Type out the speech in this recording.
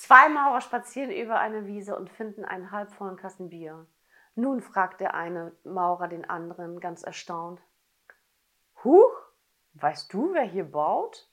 2 Maurer spazieren über eine Wiese und finden einen halbvollen Kasten Bier. Nun fragt der eine Maurer den anderen ganz erstaunt: Huch, weißt du, wer hier baut?